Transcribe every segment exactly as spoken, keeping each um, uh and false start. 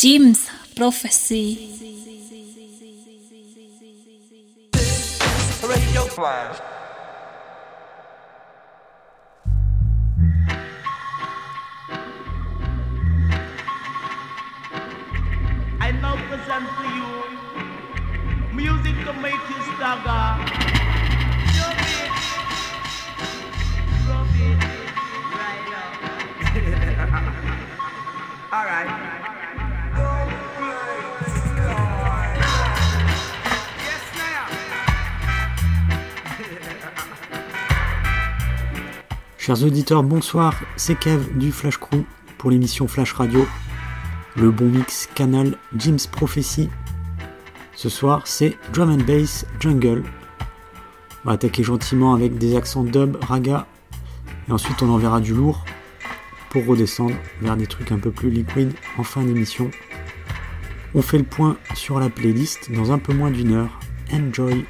Jim's Prophecy. Radio Flash. I now present to you music to make you stagger. Jump it, drop it, right up. All right. Chers auditeurs, bonsoir, c'est Kev du Flash Crew pour l'émission Flash Radio, le bon mix canal Jim's Prophecy. Ce soir, c'est Drum and Bass Jungle. On va attaquer gentiment avec des accents dub, raga, et ensuite on enverra du lourd pour redescendre vers des trucs un peu plus liquide en fin d'émission. On fait le point sur la playlist dans un peu moins d'une heure. Enjoy!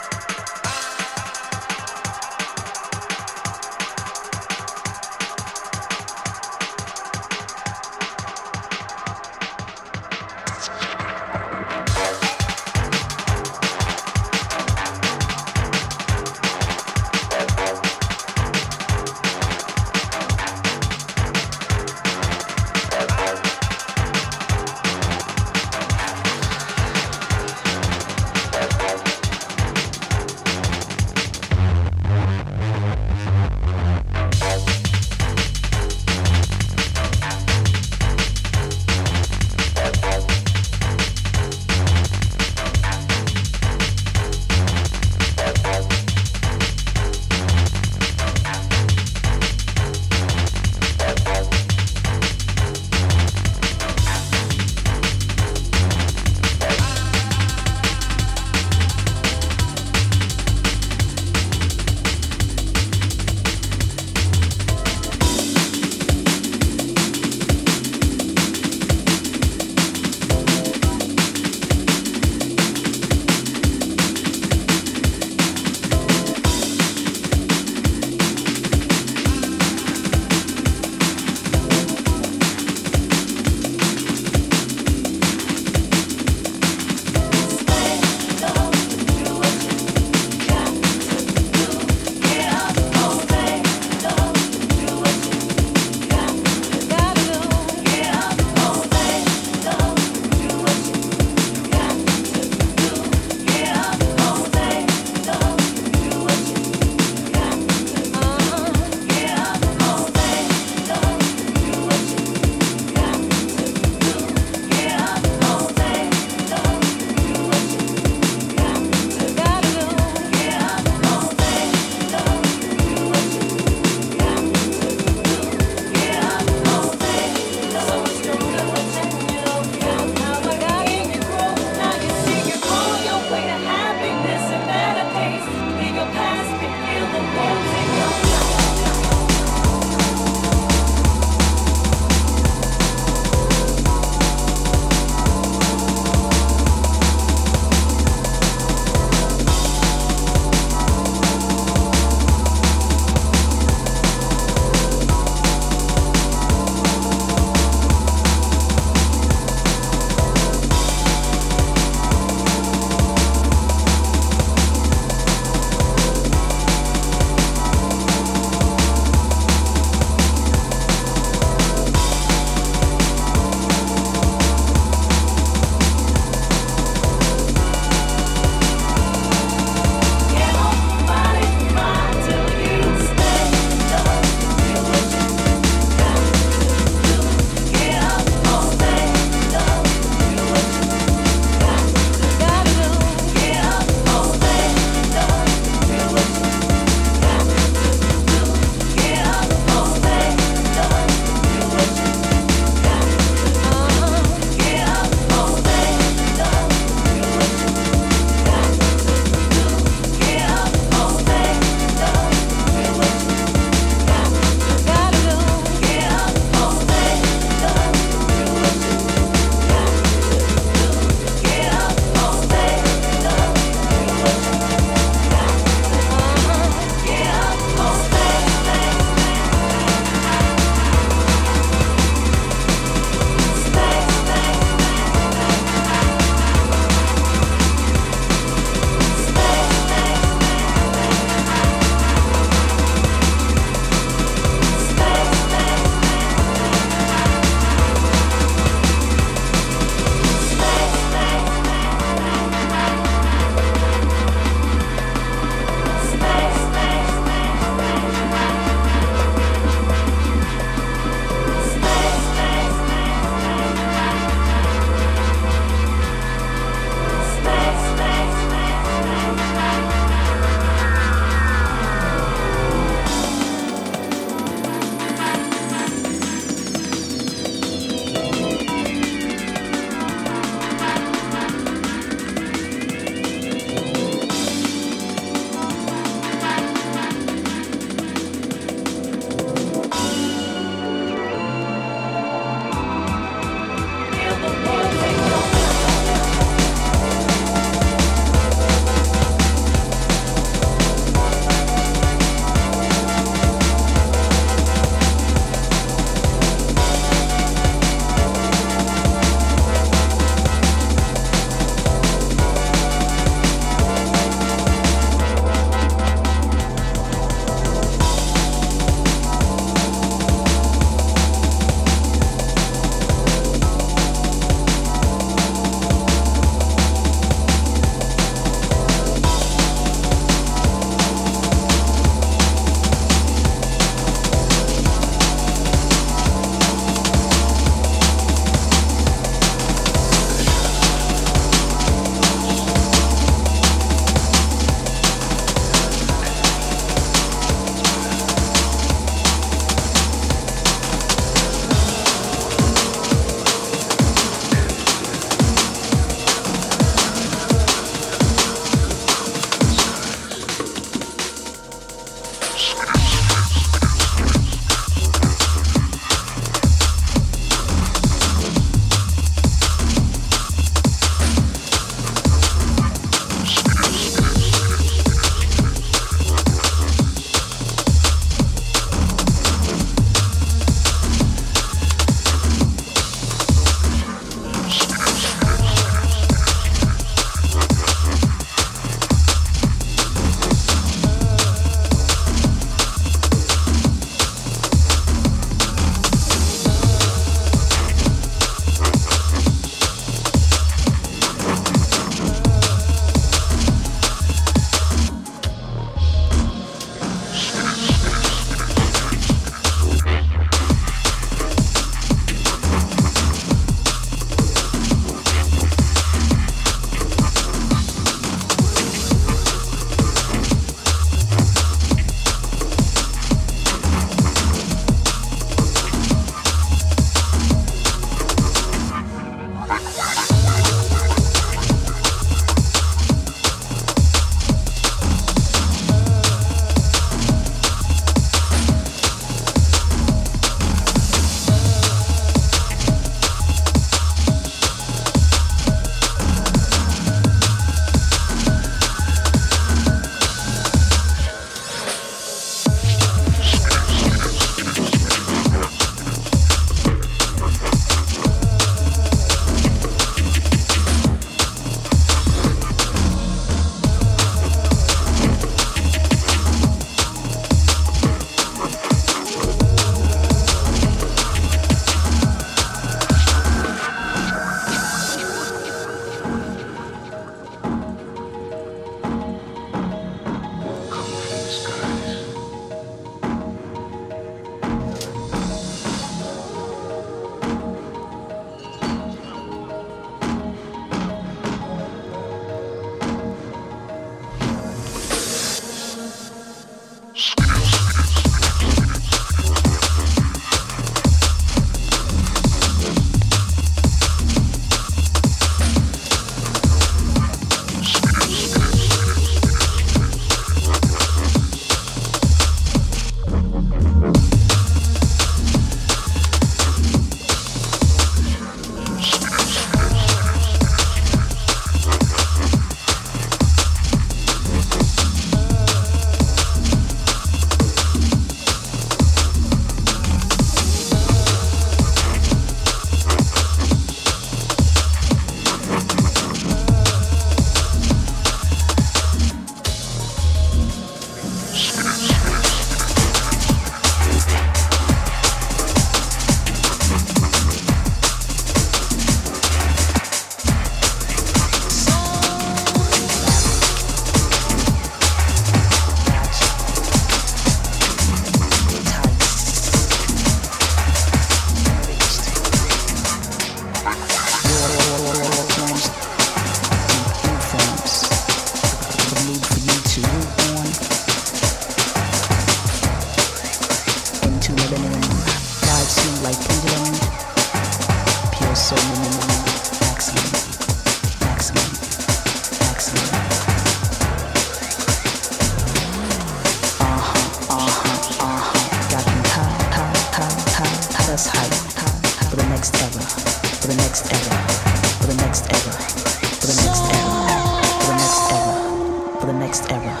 next era, for the next era, for the next era, for the next era.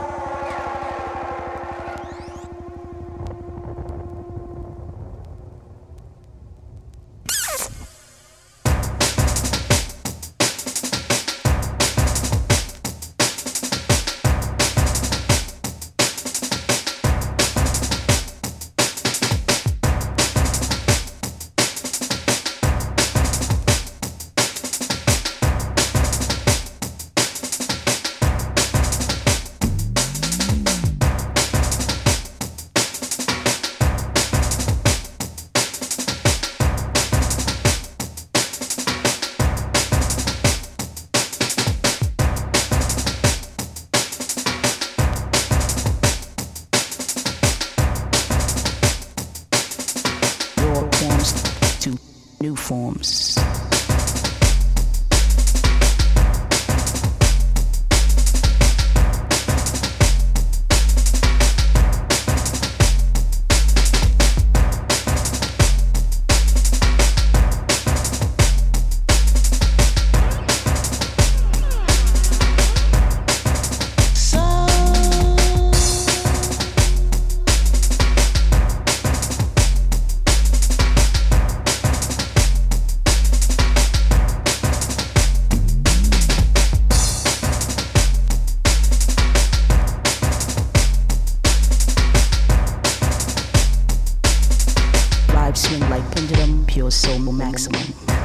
New forms. Swing like pendulum, pure soul maximum.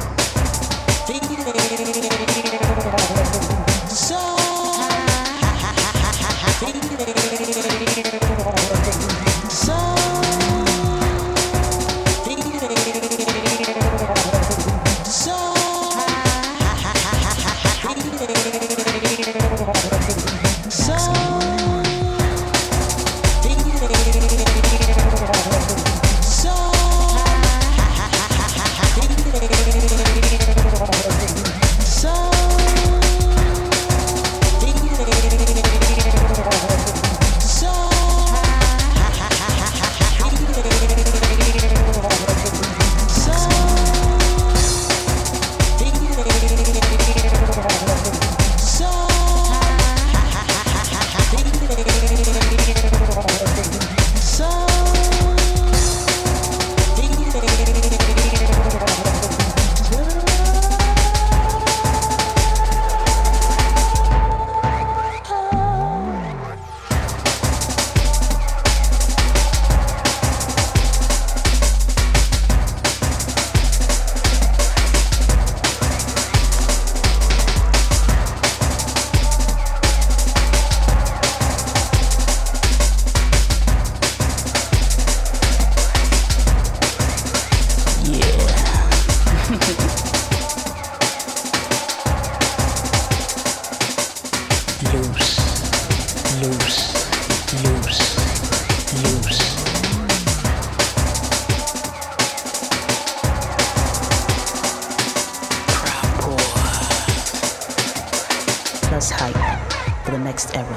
Hype for the next era.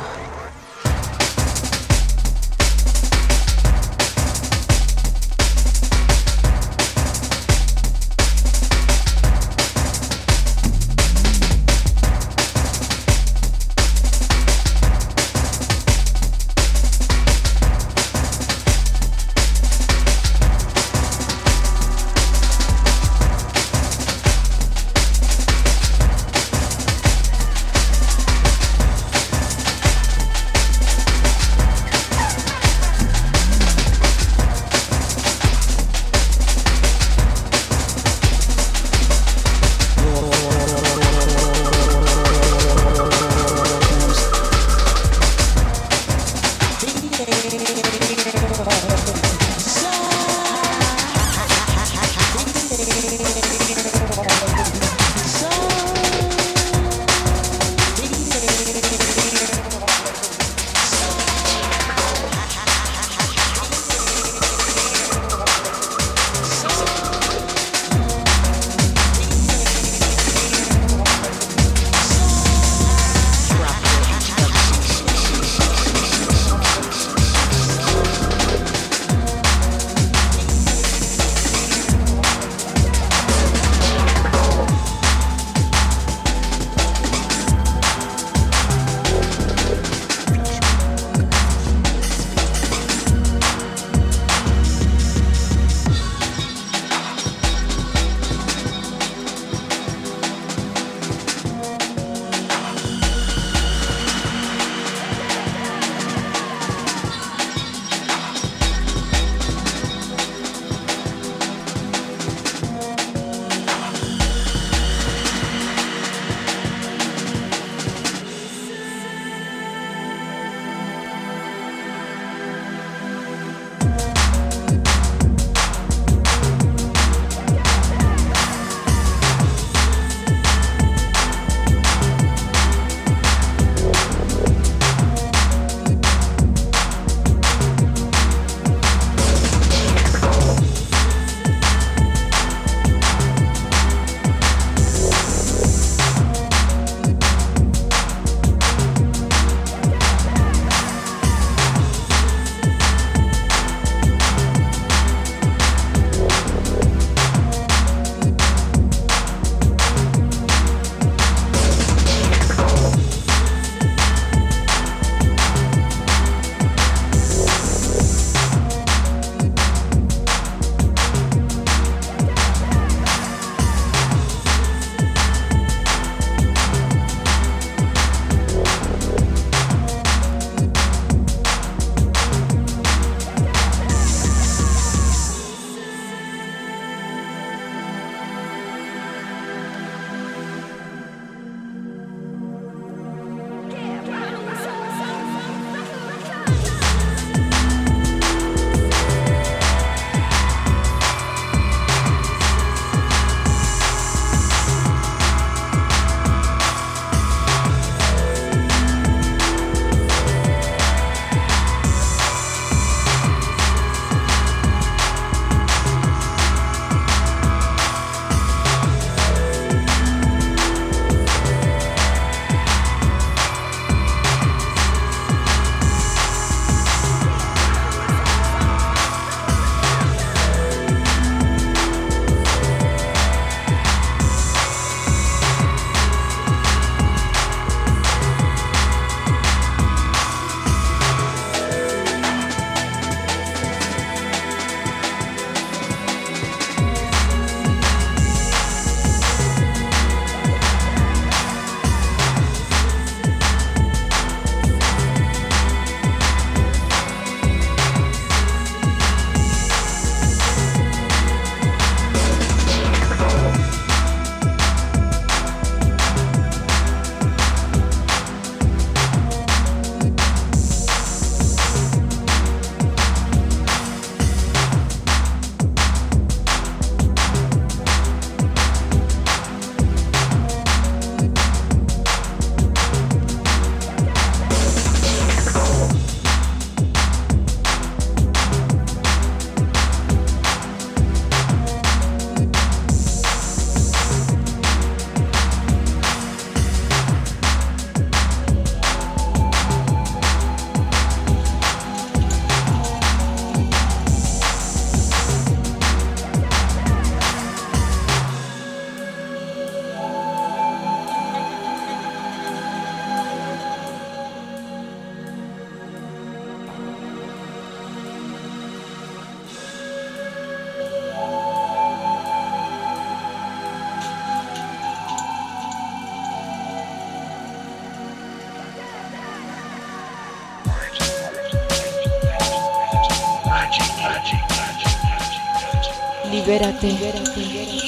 Libérate, libérate, libérate.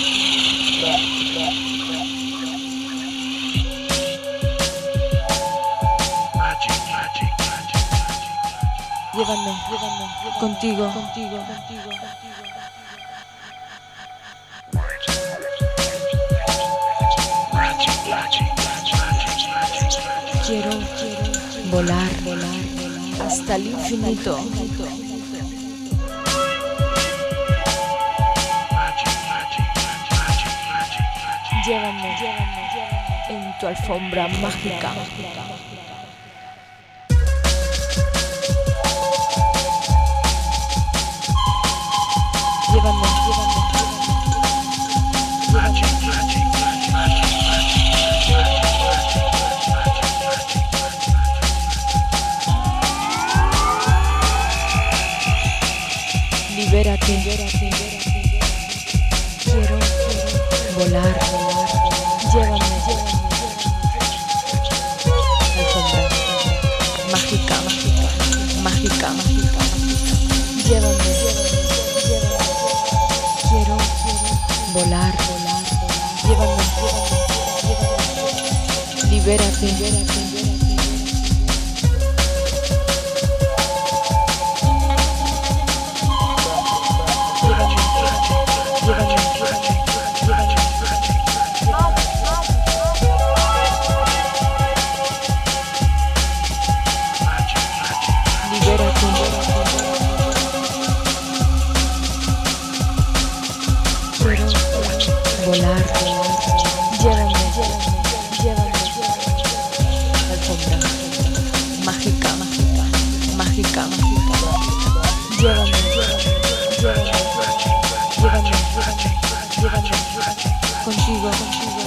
Llévame, llévame, contigo, contigo, contigo. Quiero, quiero volar, volar, volar hasta el infinito. Llévame, llévame, llévame en tu alfombra mágica. Llévame, llévame, libérate, libérate, libérate. Quiero, quiero volar, volar, llévame, llévame, alfombra mágica, mágica, mágica, mágica, llévame, llévame, llévame. Quiero, quiero volar, volar, llévame, llévame, llévame. Libérate, libérate, libérate. Volar, llévame, llévame, llévame, alfombra mágica, mágica, mágica, mágica, llévame, llévame, llévame, llévame, llévame, contigo, contigo.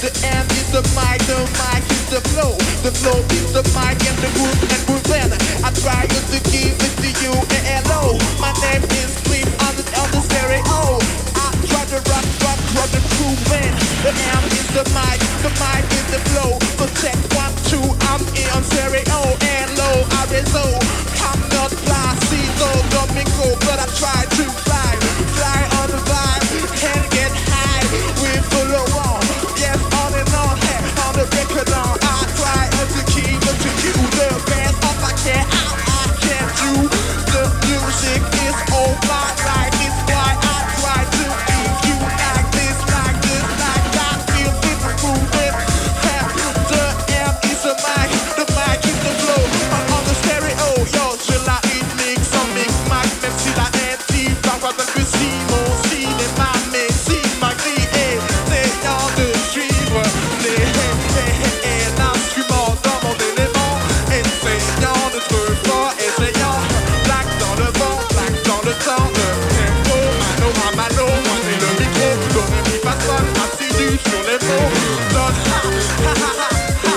The M is the mic, the mic is the flow. The flow is the mic and the groove and grooving. I try to give it to you, hello. My name is Sleep on the, on the stereo. I try to rock, rock, rock the grooving. The M is the mic, the mic is the flow. So check one, two, I'm in on stereo. Hello, R S O. I'm not Placido Domingo, but I try to fly, fly on the vibe and get high. We follow on, yes, on and on, hey, on the record on. I try to keep it to you the best of I can. I, I can do the music is all my life. It's why I try to give you like this, like this, like that. Feel it moving. The M is the mic, the mic is the flow. I'm on the stereo, yo, je la unique, sans mix, max, même si la intime, parfois même que si mon cinéma, mais si ma grille est essayant de suivre les l'instrument dans mon élément, essayant de trouver fort, essayant, black dans le vent, black dans le temps, le tempo, mano à mano, moi c'est le micro, donne mi fa sol, assidu sur les mots, donne ha ha ha ha.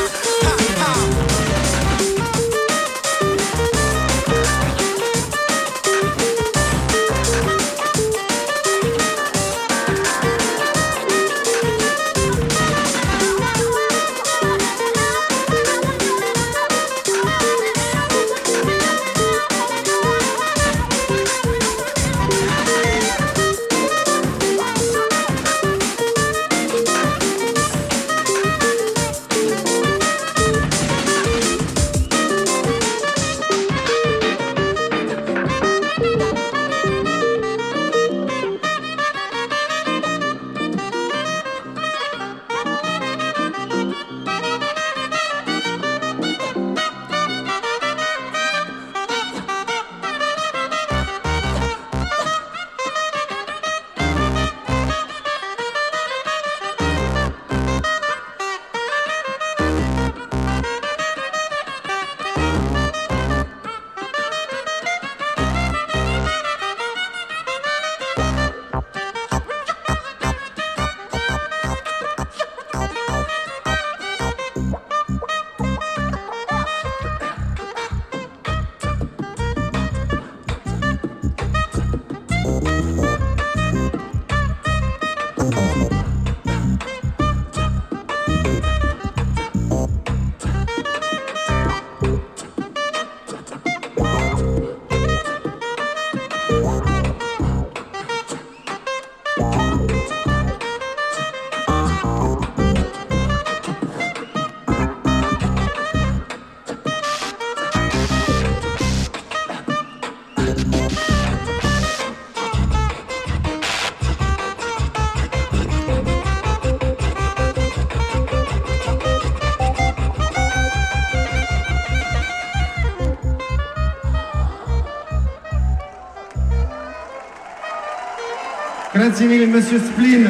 Grazie mille, Monsieur Spleen.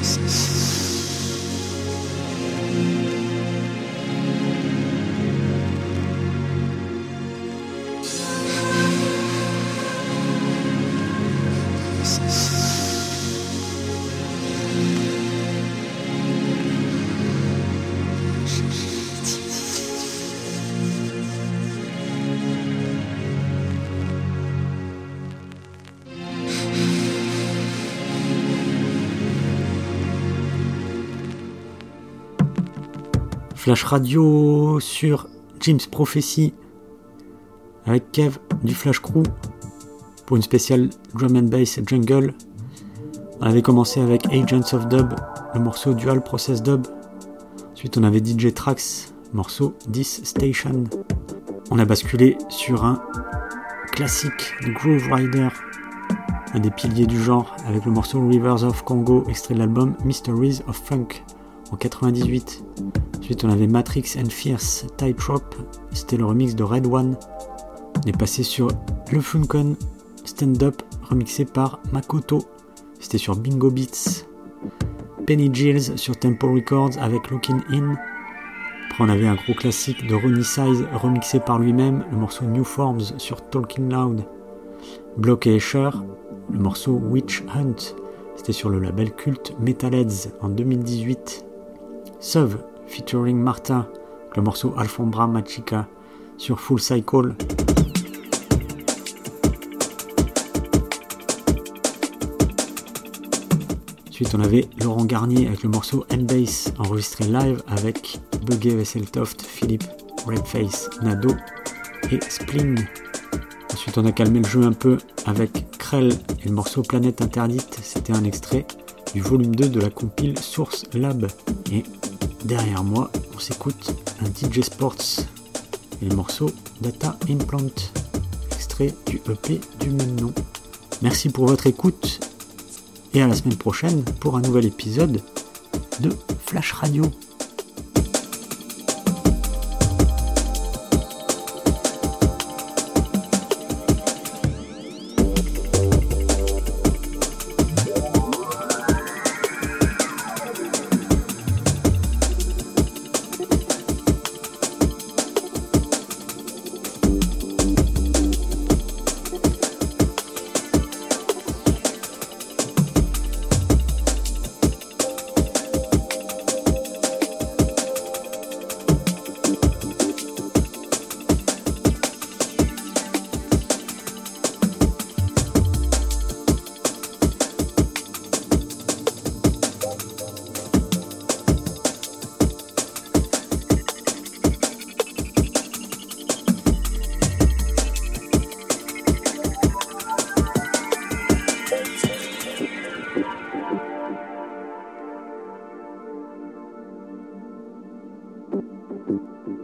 Flash Radio sur Jim's Prophecy avec Kev du Flash Crew pour une spéciale Drum and Bass Jungle. On avait commencé avec Agents of Dub, le morceau Dual Process Dub. Ensuite on avait D J Trax, morceau dix Station. On a basculé sur un classique de Groove Rider, un des piliers du genre, avec le morceau Rivers of Congo, extrait de l'album Mysteries of Funk en quatre-vingt-dix-huit. Ensuite on avait Matrix and Fierce Tightrope, c'était le remix de Red One. On est passé sur le Funkon Stand Up remixé par Makoto, c'était sur Bingo Beats. Penny Gills sur Tempo Records avec Looking In. Après on avait un gros classique de Ronnie Size remixé par lui-même, le morceau New Forms sur Talking Loud. Block et Escher, le morceau Witch Hunt, c'était sur le label culte Metalheads en deux mille dix-huit. Suv featuring Martha, le morceau Alfombra Machica sur Full Cycle. Ensuite on avait Laurent Garnier avec le morceau N-Bass enregistré live avec Buggy Vesseltoft, Philippe, Redface, Nado et Spleen. Ensuite on a calmé le jeu un peu avec Krell et le morceau Planète Interdite, c'était un extrait du volume deux de la compile Source Lab. Et derrière moi on s'écoute un D J Sports et le morceau Data Implant, extrait du E P du même nom. Merci pour votre écoute et à la semaine prochaine pour un nouvel épisode de Flash Radio. Thank you.